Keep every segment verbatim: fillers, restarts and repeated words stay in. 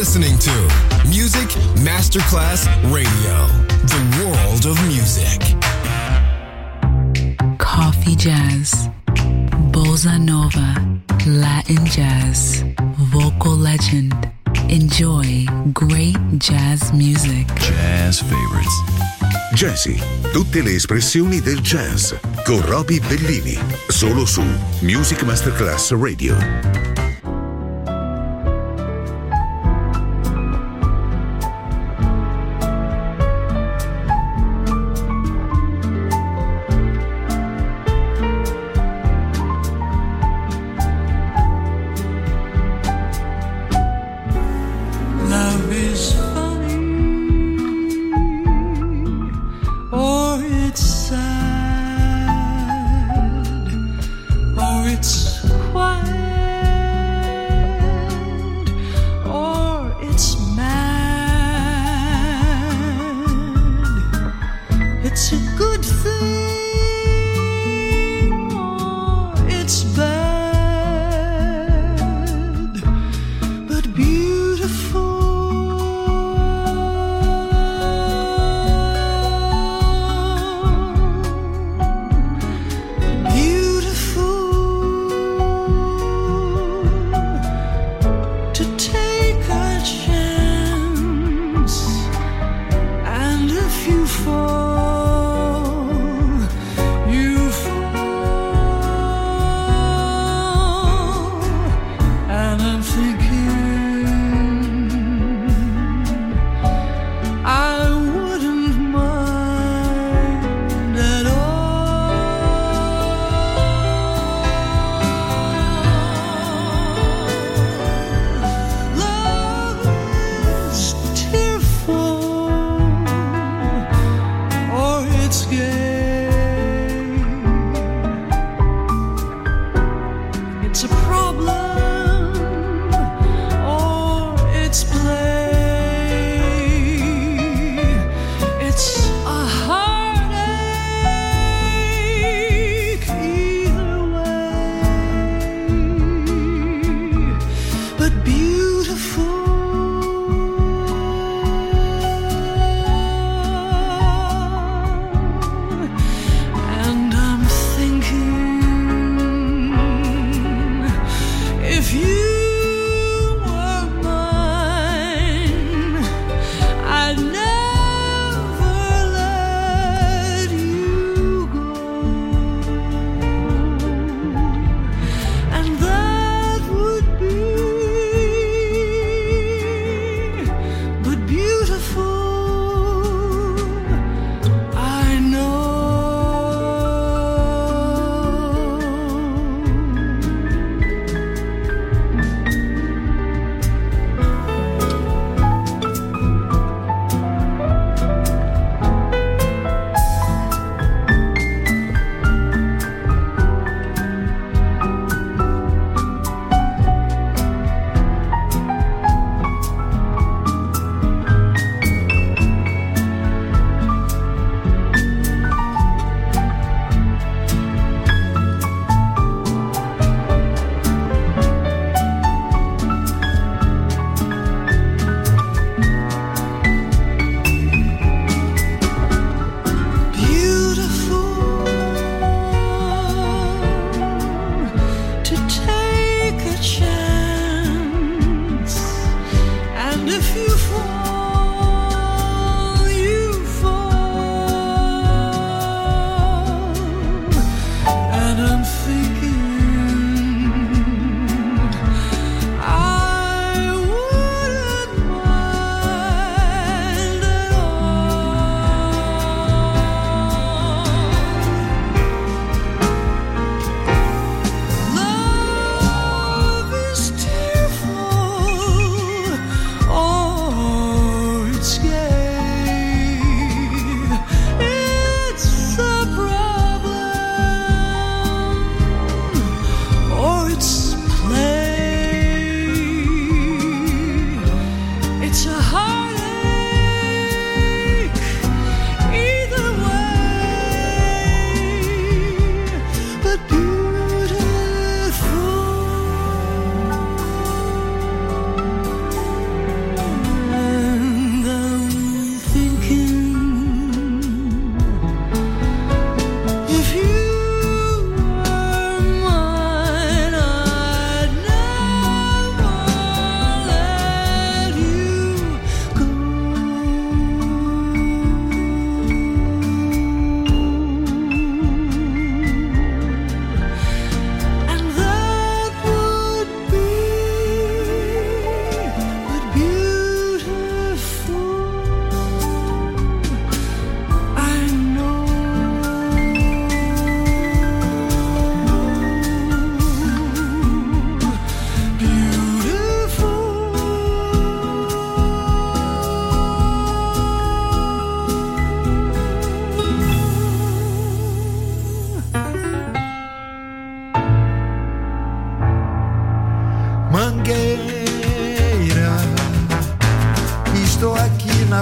listening to Music Masterclass Radio, the world of music. Coffee jazz, bossa nova, Latin jazz, vocal legend. Enjoy great jazz music. Jazz favorites. Jazzy, tutte le espressioni del jazz con Roby Bellini, solo su Music Masterclass Radio.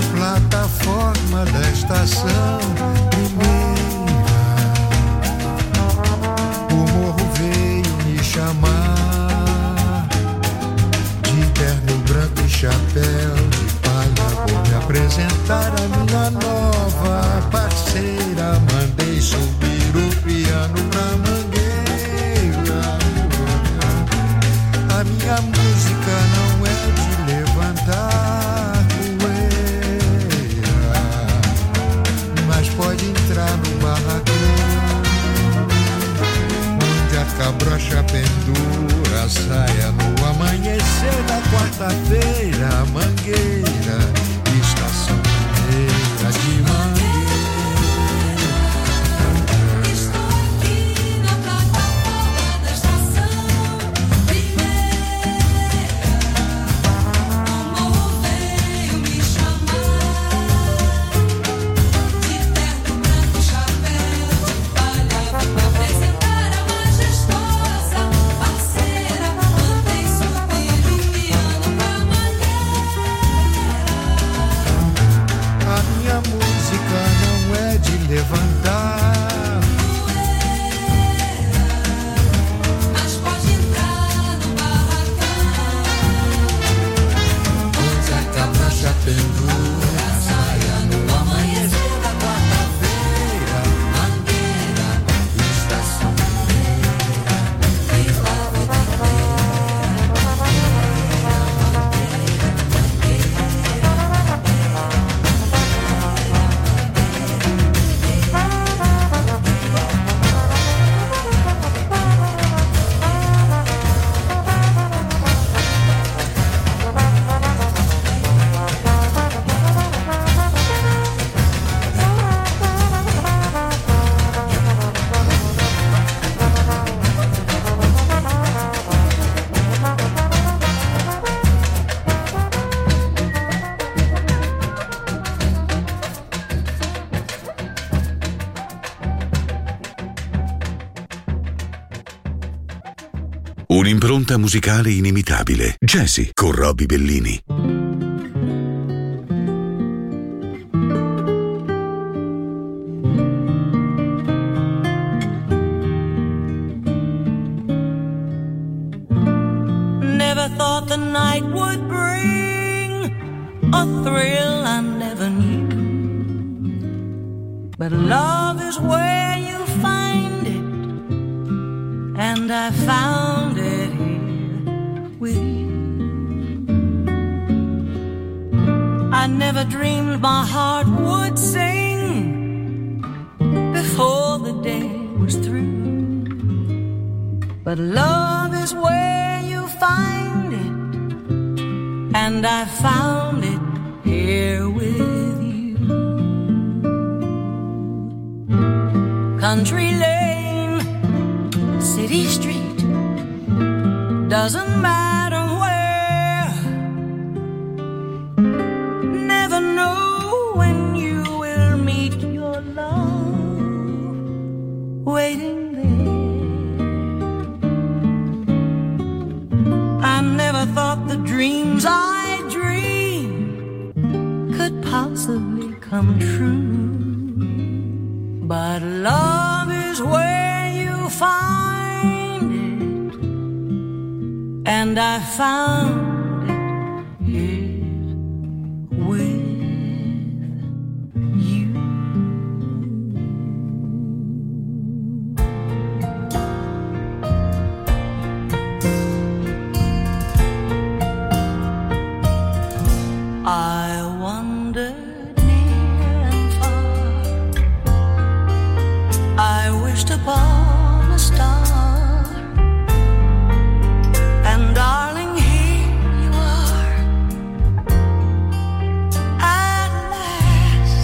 na plataforma da estação primeira, o morro veio me chamar, de terno branco e chapéu de palha. Vou me apresentar a minha nova parceira. Mandei subir o piano pra mangueira. A minha música não é de levantar poeira, mas pode entrar no barracão, onde a cabrocha pendura a saia no amanhecer da quarta-feira. Mangueira, estação primeira de Mangueira. Levantar poeira, mas pode entrar no barracão, onde a cabrocha pendura a saia no amanhecer da quarta-feira. Mangueira, estação primeira, e lá vou Un'impronta musicale inimitabile. Jazzy con Roby Bellini. Never thought the night would bring a thrill I never knew, but love is where you find it, and I found it here with you. I never dreamed my heart would sing before the day was through, but love is where you find it, and I found it here with you. Country lane, city street, doesn't matter where. Never know when you will meet your love waiting there. I never thought the dreams I dreamed could possibly come true, but love is where you find it, and I found it here with you. I wandered near and far, I wished upon a star, and darling, here you are at last.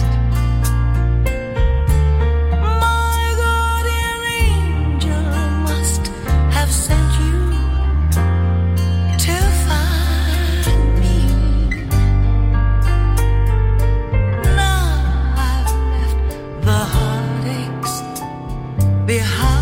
My guardian angel must have sent you to find me. Now I've left the heartaches behind.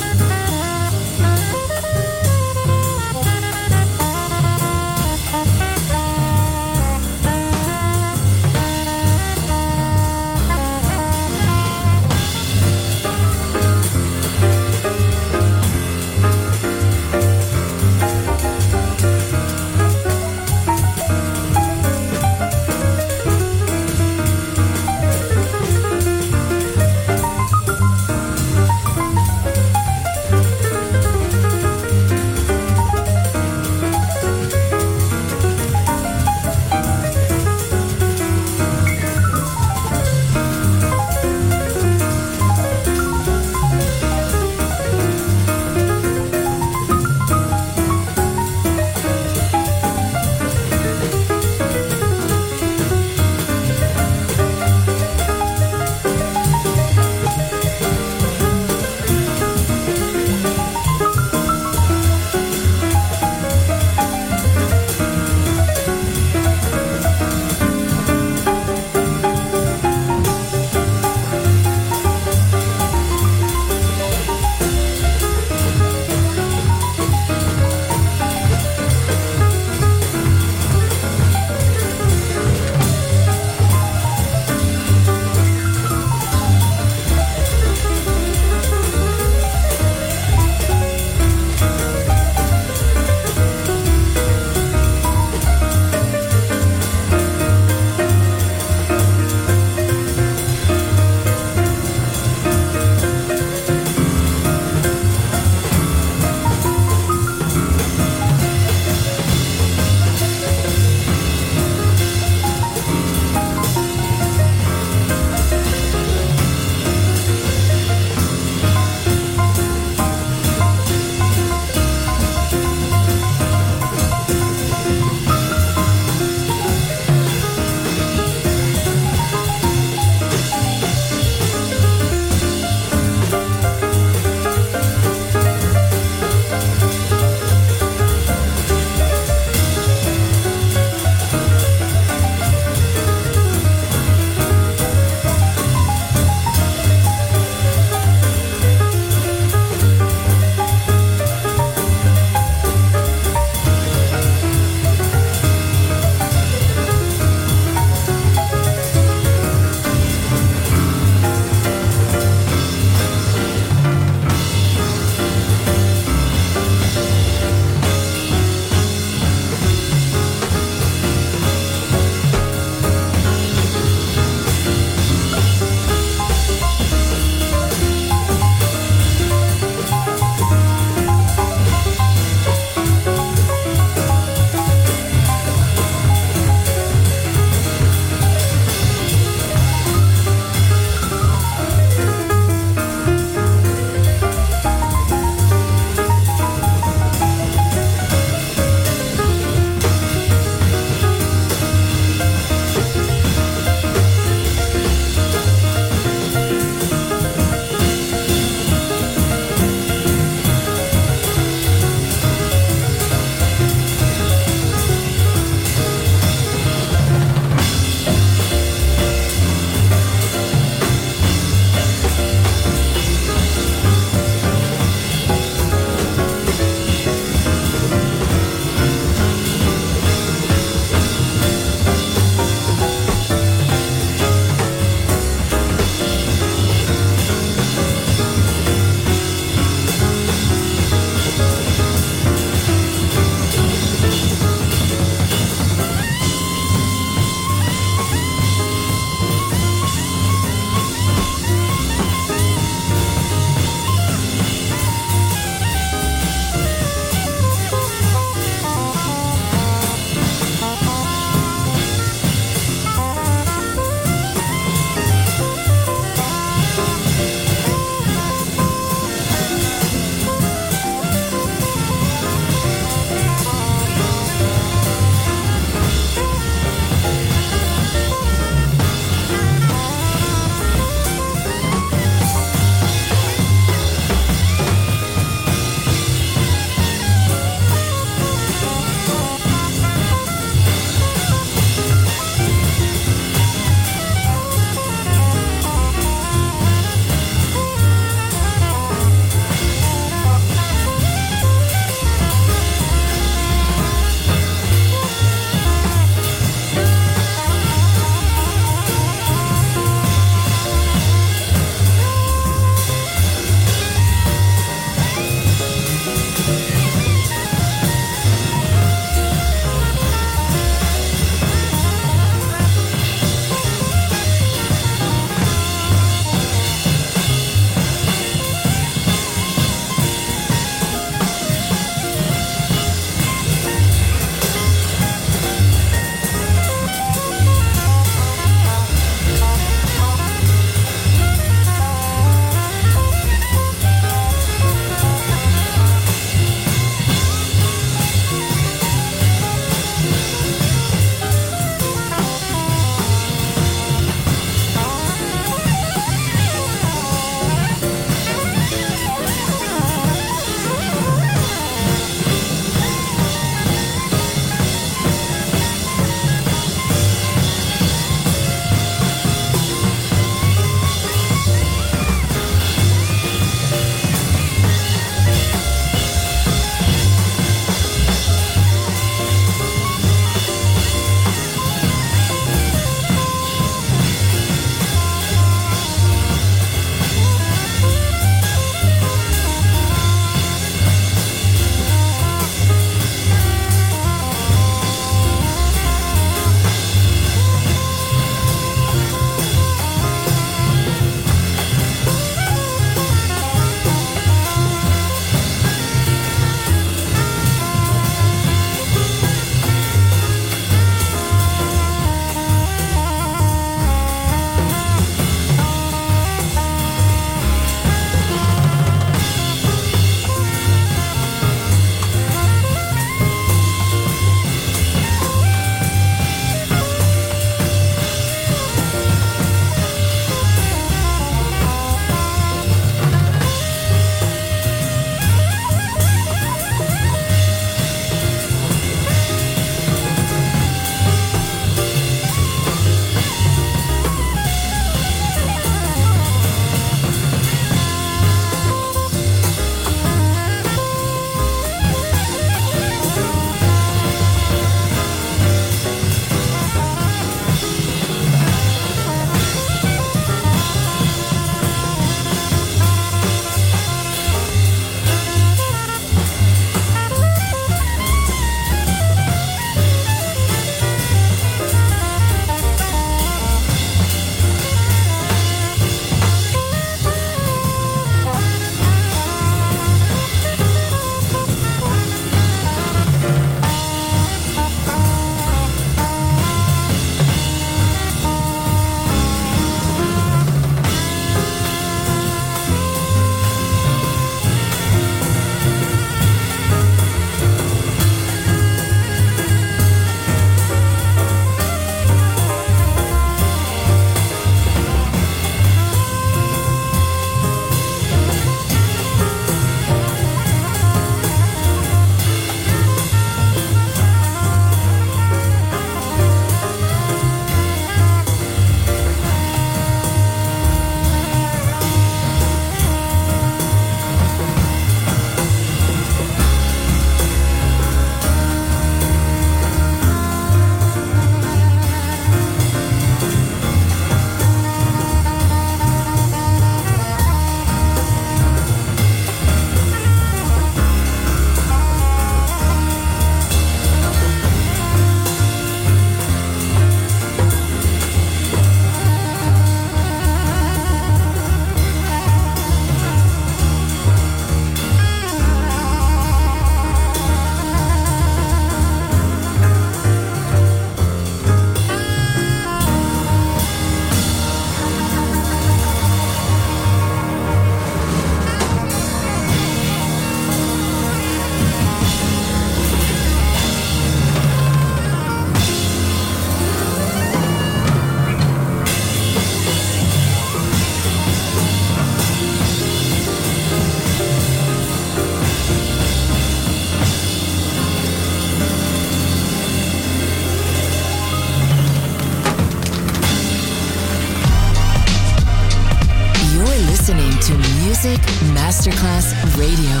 Music Masterclass Radio.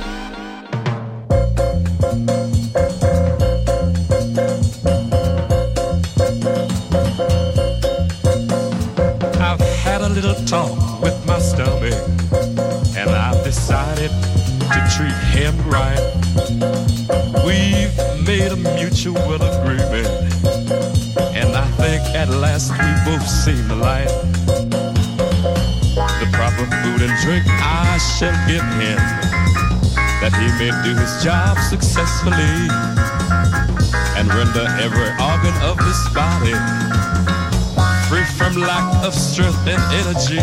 I've had a little talk with my stomach, and I've decided to treat him right. We've made a mutual agreement, and I think at last we both seen the light. The proper food and drink I shall give him, that he may do his job successfully and render every organ of his body free from lack of strength and energy.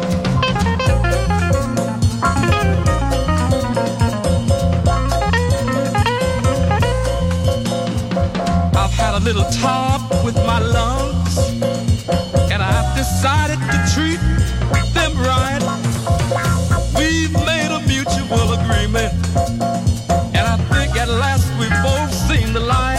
I've had a little talk with my lungs, and I've decided to treat them right. We've made a mutual agreement, and I think at last we've both seen the light.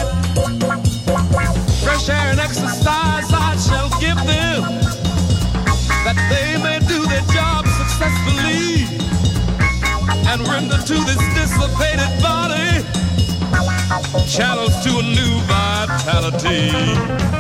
Fresh air and exercise I shall give them, that they may do their job successfully and render to this dissipated body channels to a new vitality.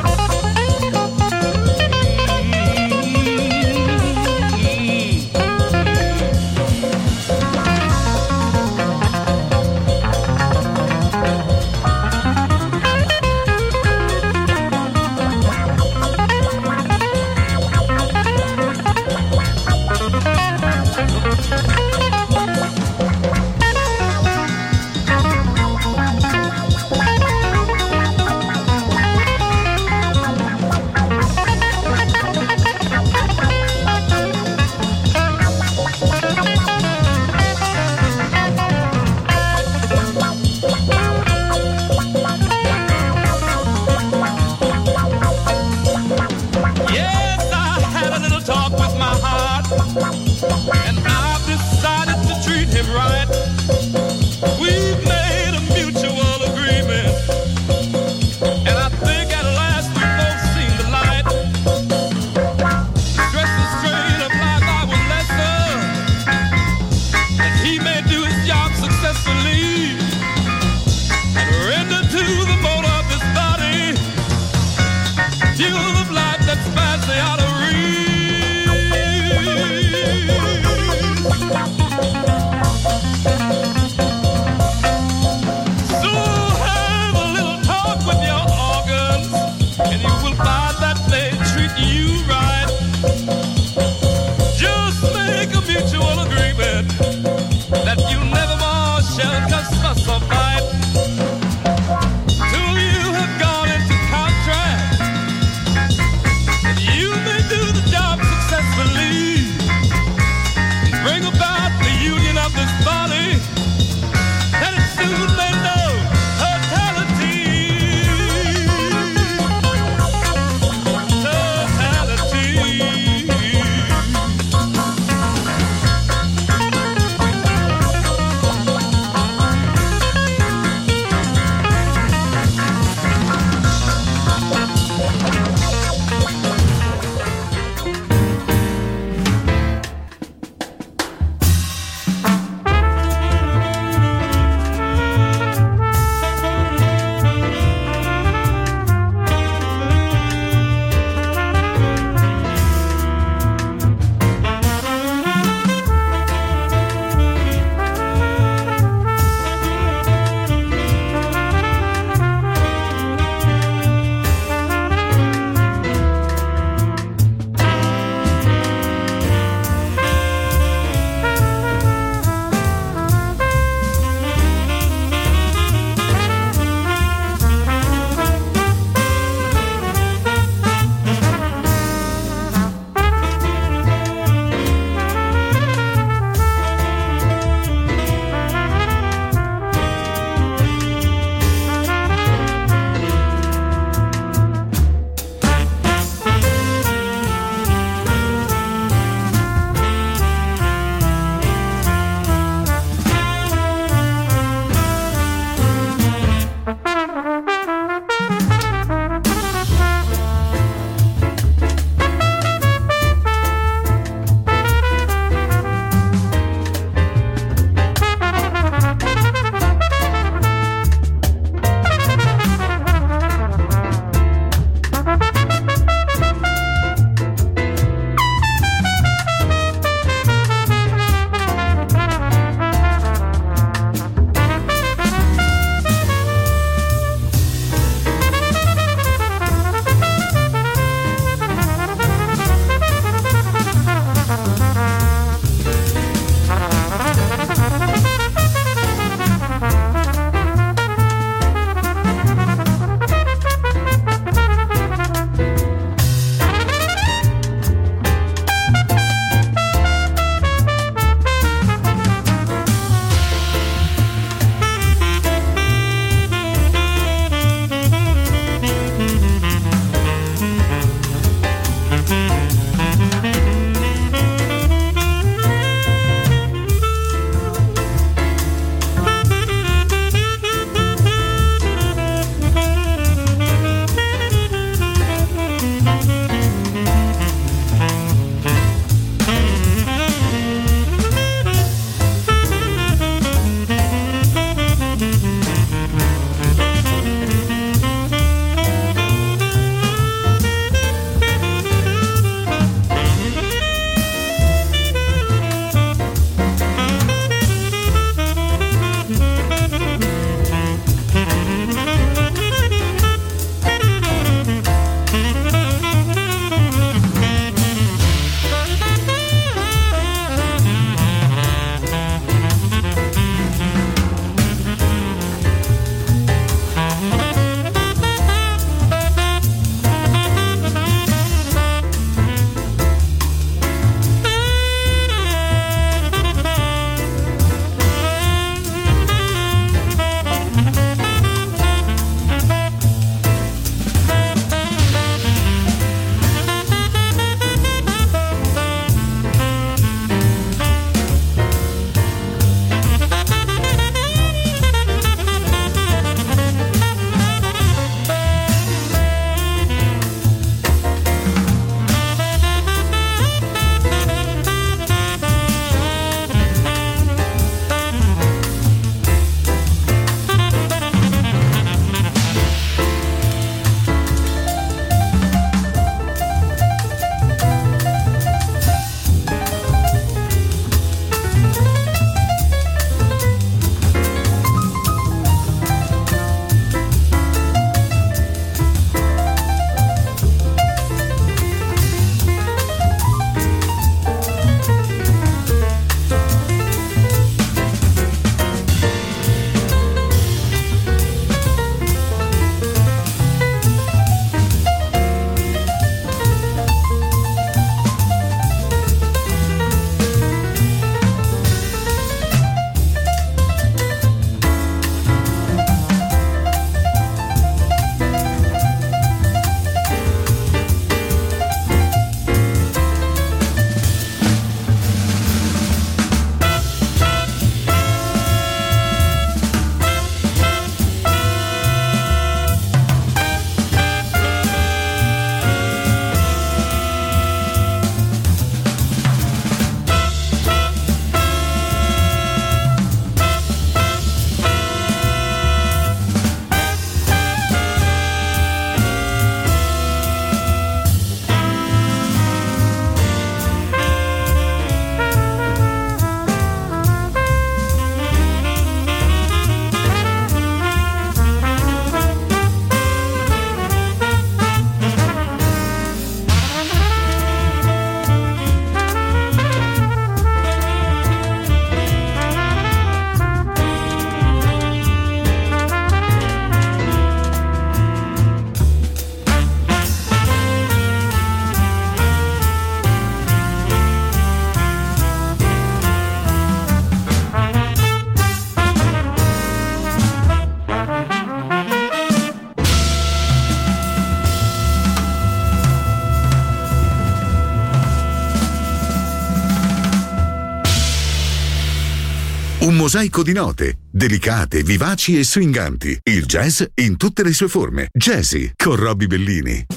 Un mosaico di note, delicate, vivaci e swinganti. Il jazz in tutte le sue forme. Jazzy con Robbie Bellini.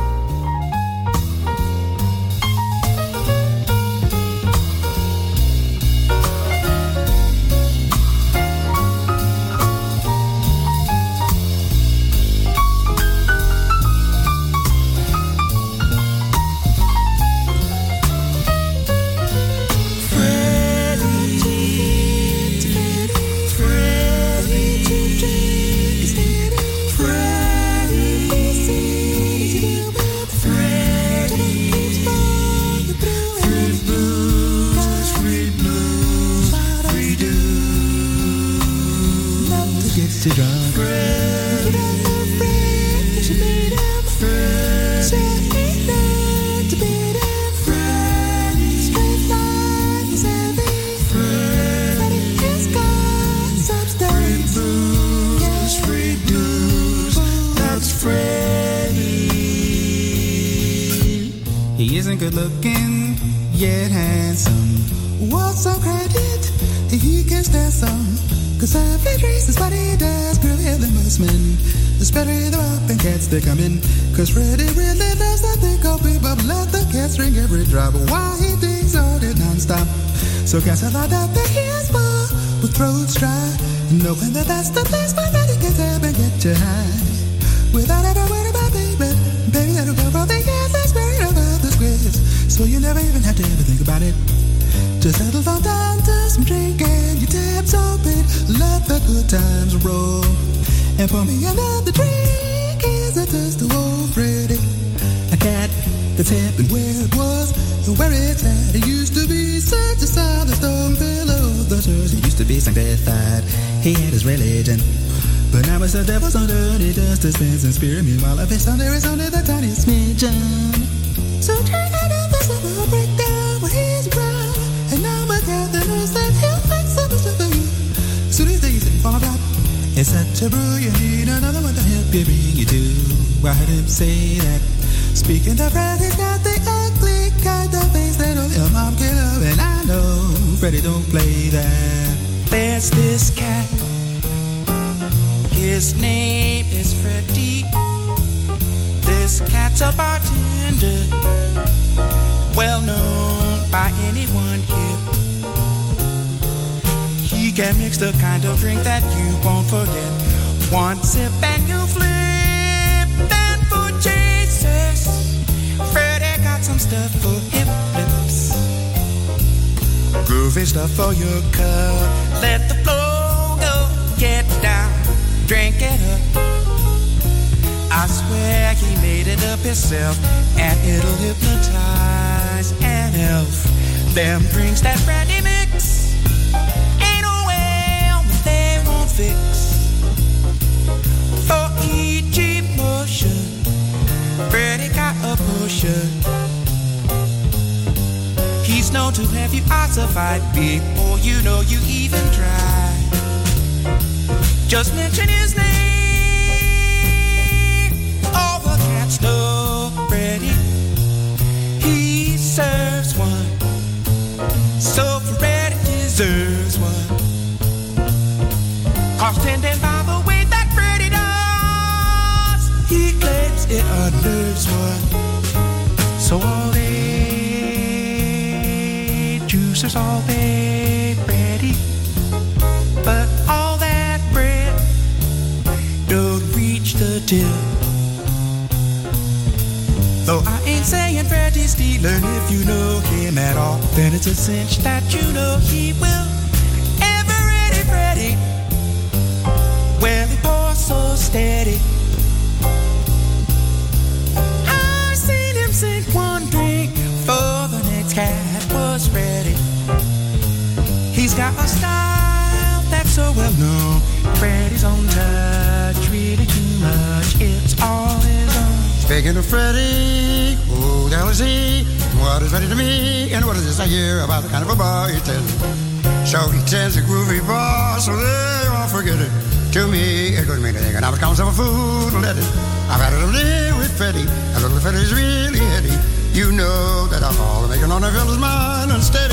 He isn't good looking, yet handsome. What's some credit? He can stand some. Cause every trace is what he does, prettier than most men. The better the up and cats they come in. Cause Freddie really loves that thing called people. Let the cats drink every drop while he thinks on it non-stop. So cats are like that they hear more with throats dry, knowing that that's the place where Freddie gets up and get you high. Without ever worry about baby, baby that'll go for the years that's worried about the squares. So you never even have to ever think about it. Just settle down to some drink and your tabs open. Let the good times roll. And pour me another drink as I touch the old Freddie. A cat that's hip and where it was and where it's at. It used to be such a solid stone pillow. The church it used to be sanctified. He had his religion. But now it's the devil's on dirty dust dispense and spirit. Meanwhile, if it's under, it's only the tiniest smidgen. So turn it up, this will break down when he's around. And now my captain knows that he'll make so much for you. Soon as these things fall apart, it's such a brew, you need another one to help you bring you to. I heard him say that. Speaking of Fred, he's got the ugly kind of face that only a mom can love. And I know Freddie don't play that. There's this cat. His name is Freddie. This cat's a bartender, well known by anyone here. He can mix the kind of drink that you won't forget. One sip and you flip, and for Jesus, Freddie got some stuff for hip lips. Groovy stuff for your cup. Let the flow go, get down. Drink it up. I swear he made it up himself, and it'll hypnotize an elf. Them drinks that Freddie mix ain't no way that they won't fix. For each emotion, Freddie got a potion. He's known to have you ossified before you know you even try. Just mention his name. All the cats know Freddie. He serves one. So Freddie deserves one. Cause tending by the way that Freddie does, he claims it unnerves one. So all day juicers all day Freddie. But all that bread don't reach the till. Though I ain't saying Freddie's stealing, if you know him at all, then it's a cinch that you know he will. Ever ready, Freddie. Well, he pours so steady. I've seen him sink one drink for the next cat was ready. He's got a style that's so well known. Freddie's own touch, really too much. It's all his own. Speaking of Freddie, who the hell is he? What is Freddie to me? And what is this I hear about the kind of a boy he tells? So he tells a groovy boss, so they won't forget it. To me, it doesn't mean anything, and I was calling some food and let it. I've had a little day with Freddie, and little Freddie's really heady. You know that alcohol will make an honor fill his mind unsteady.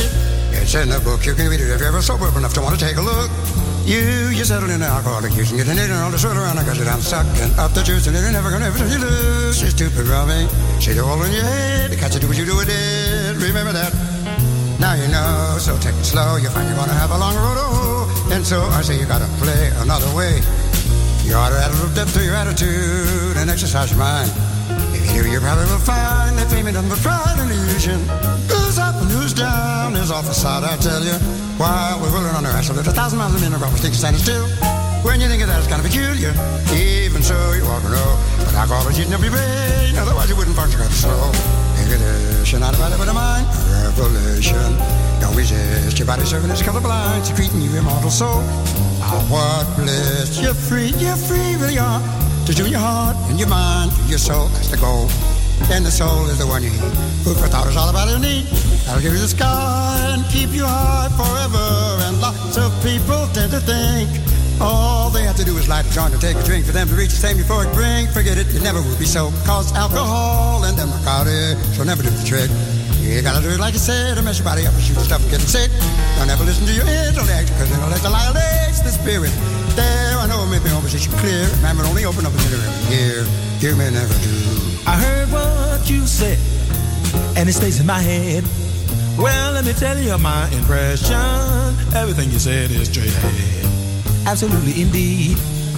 It's in the book, you can read it if you're ever sober enough to want to take a look. You, you settle in alcoholic use and get an in and all the sort around because you're down sucking up the juice and you're never gonna ever you lose. She's stupid, Robbie. She's all in your head. The cats do what you do with it. Remember that. Now you know, so take it slow. You find you're gonna have a long road to hoe. And so I say you gotta play another way. You ought to add a little depth to your attitude and exercise your mind. If you do, you probably will find that fame ain't nothing but pride and illusion. Who's up and who's down is off the side, I tell you. While we're rolling on our ass, so there's a thousand miles a minute, probably think standing still. When you think of that, it's kind of peculiar. Even so, you ought to know. But alcohol is eating up your brain, otherwise you wouldn't function quite slow. Inhibition, not about it, but a mind. Revolution. Don't resist. Your body serving as a colorblind, secreting you immortal soul. Ah, what bliss. You're free, you're free, really are. To do your heart and your mind and your soul, that's the goal. And the soul is the one you need. Food for thought is all about your need. That'll give you the sky and keep you high forever. And lots of people tend to think all they have to do is light a joint or take a drink for them to reach the same euphoric brink. Forget it, it never will be so. Cause alcohol and them narcotics will never do the trick. You gotta do it like you said, to mess your body up and shoot the stuff and get sick. Don't ever listen to your intellect, cause intellect annihilates the spirit. There, I know it may be opposition clear. Remember, only open up until every year. You may never do. I heard what you said, and it stays in my head. Well, let me tell you my impression. Everything you said is straight ahead. Absolutely, indeed.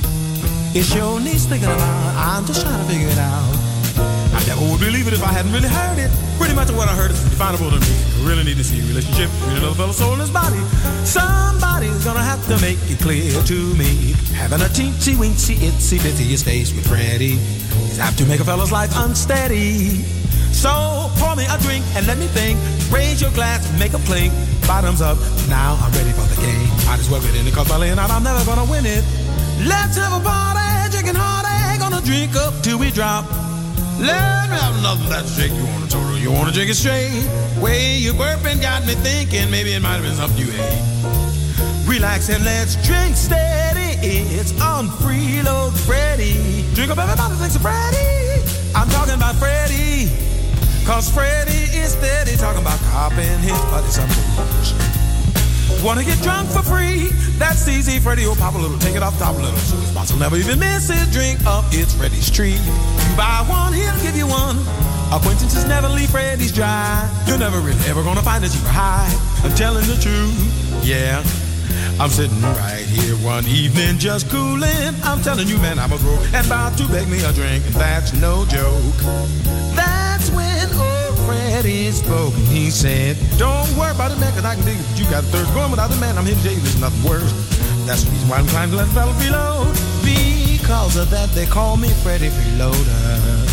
It sure needs thinking about. I'm just trying to figure it out. I never would believe it if I hadn't really heard it. Pretty much what I heard is definable to me. I really need to see a relationship between another fellow's soul and his body. Somebody's gonna have to make it clear to me. Having a teensy weensy itsy bitsy space with Freddie is apt to make a fellow's life unsteady. So pour me a drink and let me think. Raise your glass and make a clink. Bottoms up, now I'm ready for the game. Might as well get in it, cause by laying out I'm never gonna win it. Let's have a party, drinking hard, gonna drink up till we drop. Let me have nothing that's shake. You wanna total, you wanna drink it straight. Way you burping got me thinking maybe it might have been something you ate. Relax and let's drink steady. It's on Freeload Freddy. Drink up everybody thinks of Freddy. I'm talking about Freddy. Cause Freddy is steady talking about copping his buddy some booze. Wanna get drunk for free? That's easy. Freddy will pop a little, take it off top a little. So his boss will never even miss his drink up. It's Freddy's treat. You buy one, he'll give you one. Acquaintances never leave Freddy's dry. You're never really ever gonna find a cheaper high. I'm telling the truth, yeah. I'm sitting right here one evening just cooling. I'm telling you, man, I'm a broke and about to beg me a drink, and that's no joke. That's when old Freddy spoke and he said, don't worry about it, man, cause I can dig it. You got a thirst going without the man. I'm here to tell you there's nothing worse. That's the reason why I'm inclined to let the fella reload. Because of that, they call me Freddy Freeloader.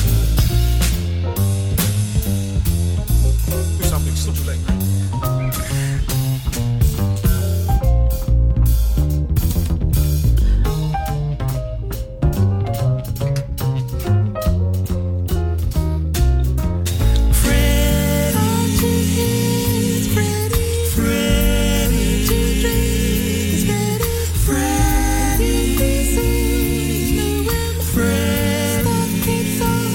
Do something super late. Freddy, Freddy, Freddy,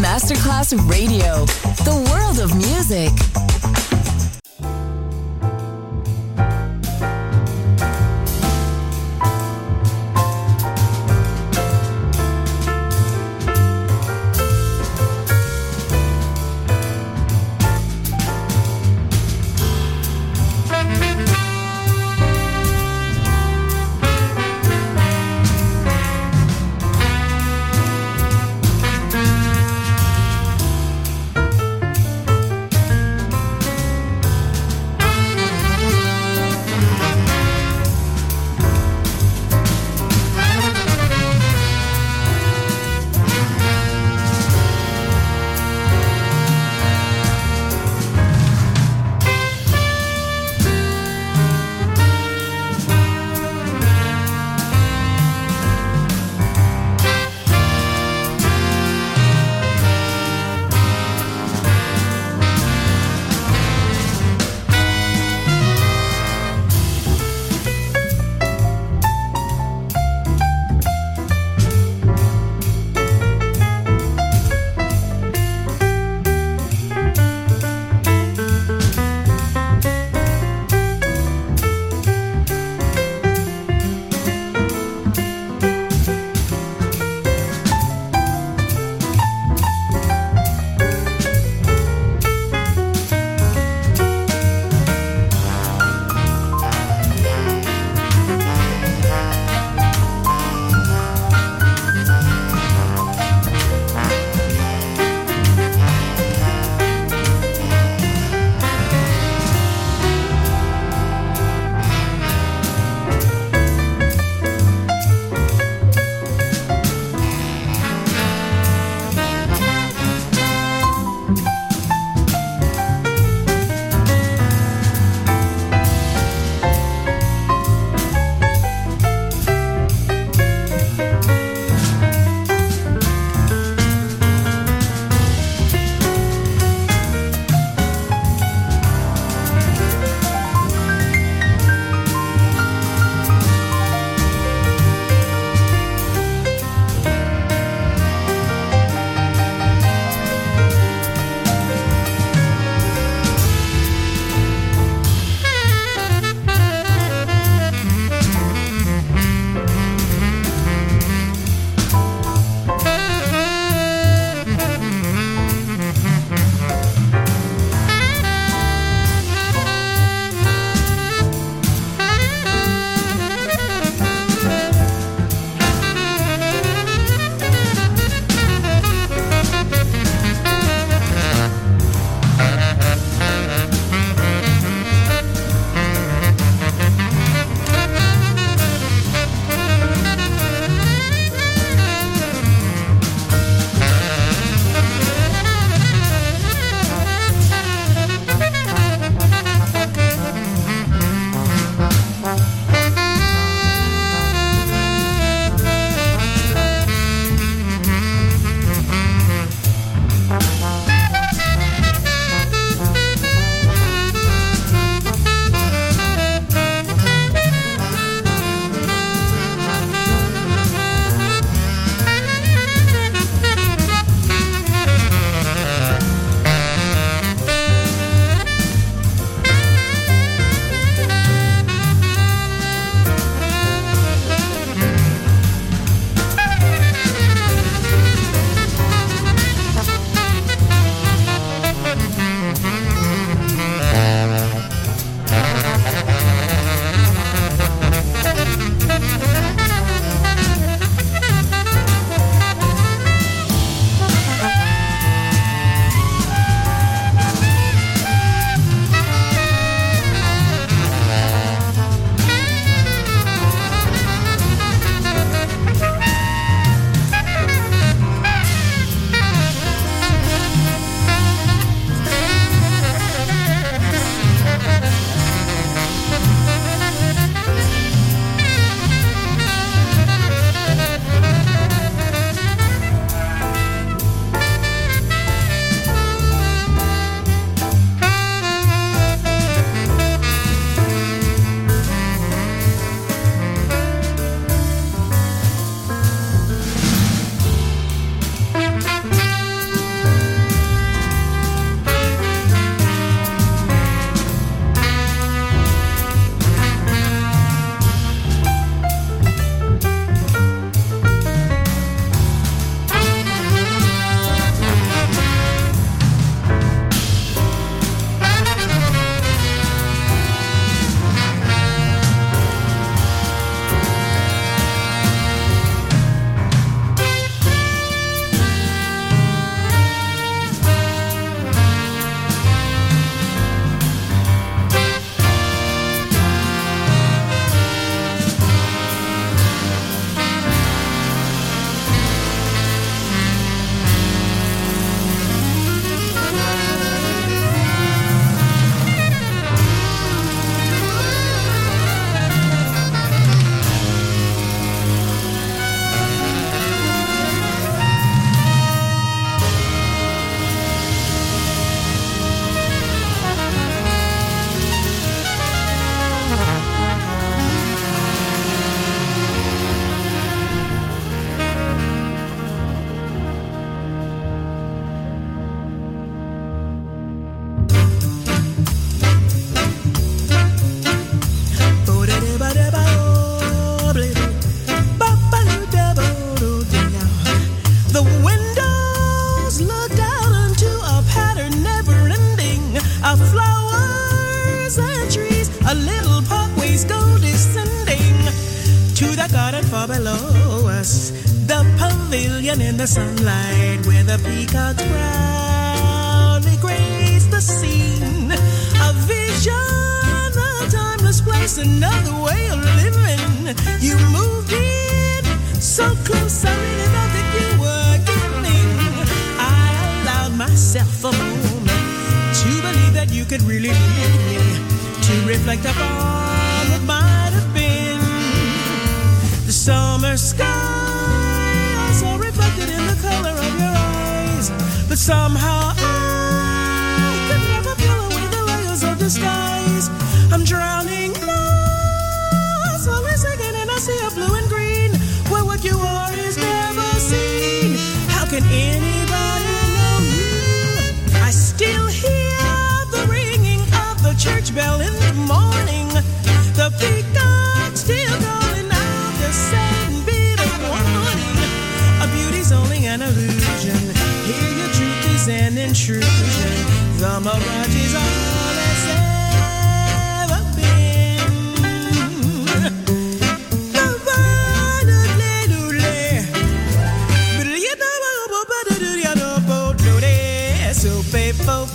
Masterclass Radio, the world of music. of flowers and trees. A little pathways go descending to the garden far below us. The pavilion in the sunlight where the peacocks proudly grace the scene. A vision, a timeless place, another way of living. You moved in so close, I really thought that you were giving. I allowed myself a moment to believe that you could really need me, to reflect upon what might have been. The summer sky also reflected in the color of your eyes, but somehow I could never peel away the layers of the skies. I'm drowning now, slowly sinking in a sea of blue and green, where what you are is never seen. How can anybody know you? I still hear the ringing of the church bell in the morning, the peacock still calling out the same bit of warning. A beauty's only an illusion, here your truth is an intrusion. The mirage is all that's ever been. So faithful.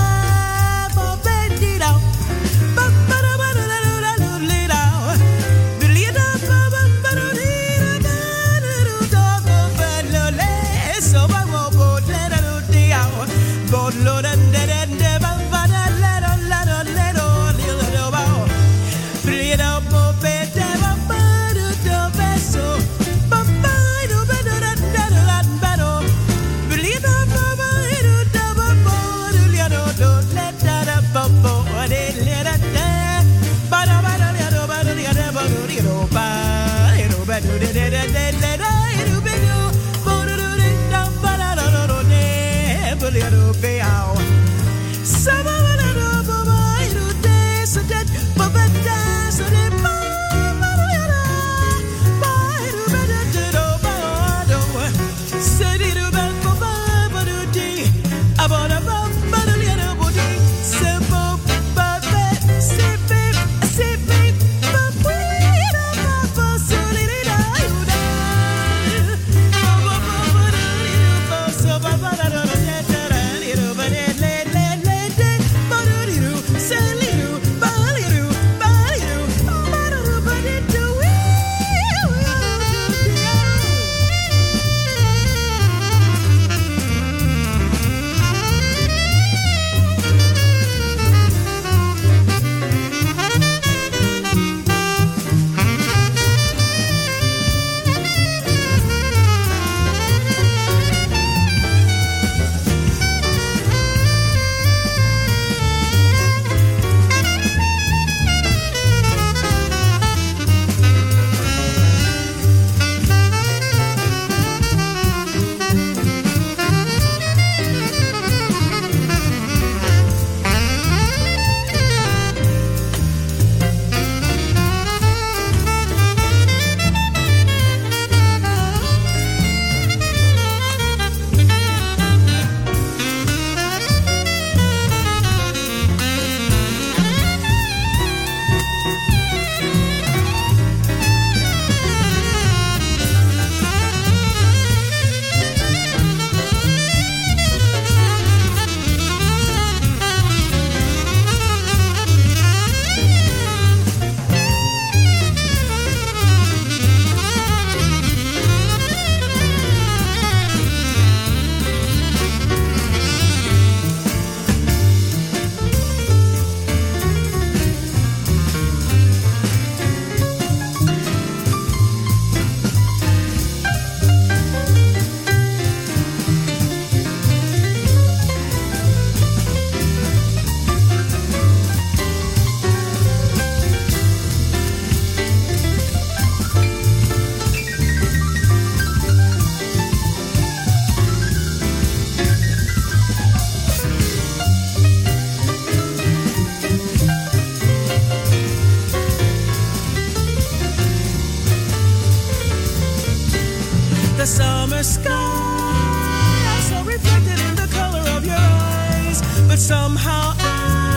the summer sky, so reflected in the color of your eyes. But somehow I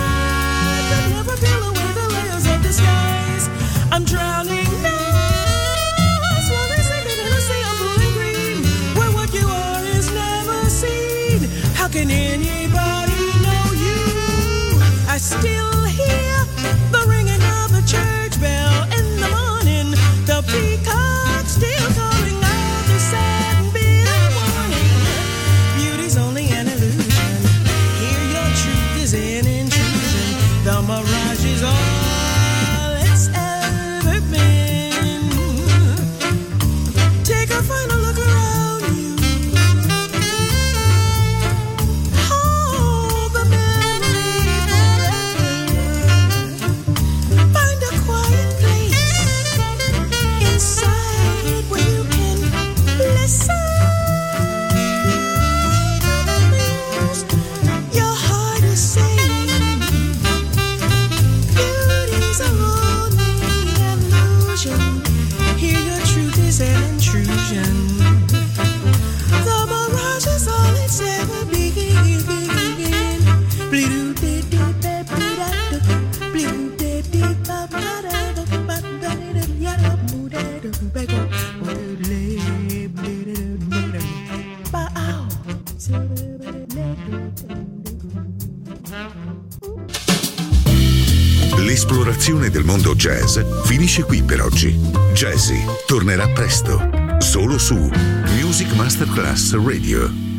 can anybody know you? I still hear the ringing of the church bell in the morning. The peacock still calling out the sad and bitter warning. Beauty's only an illusion. Here your truth is an intrusion. The mirage is all it's ever been. Take a final look around you. Hold the memory forever. Find a quiet place inside where you can listen to the things your heart is saying. Beauty's only an illusion. Here your truth is an intrusion. The mirage is all it's ever been. L'esplorazione del mondo jazz finisce qui per oggi. Jazzy tornerà presto, solo su Music Masterclass Radio.